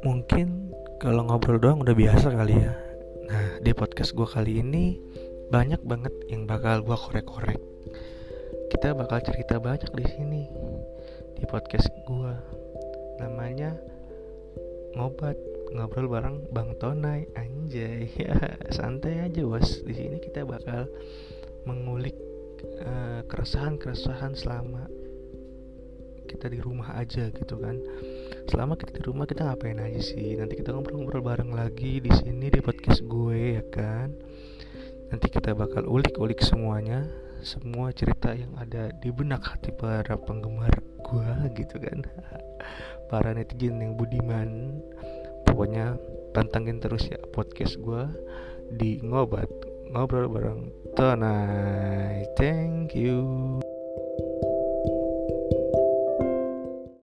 Mungkin kalau ngobrol doang udah biasa kali ya. Nah, di podcast gue kali ini banyak banget yang bakal gue korek-korek. Kita bakal cerita banyak di sini di podcast gue. Namanya ngobat ngobrol bareng Bang Tonai, anjay. Ya, santai aja bos. Di sini kita bakal mengulik keresahan-keresahan selama kita di rumah aja gitu kan. Selama kita di rumah kita ngapain aja sih? Nanti kita ngobrol-ngobrol bareng lagi di sini di podcast gue ya kan. Nanti kita bakal ulik-ulik semuanya, semua cerita yang ada di benak hati para penggemar gue gitu kan. Para netizen yang budiman. Pokoknya pantengin terus ya podcast gue di Ngobat, ngobrol bareng Tonai. Thank you.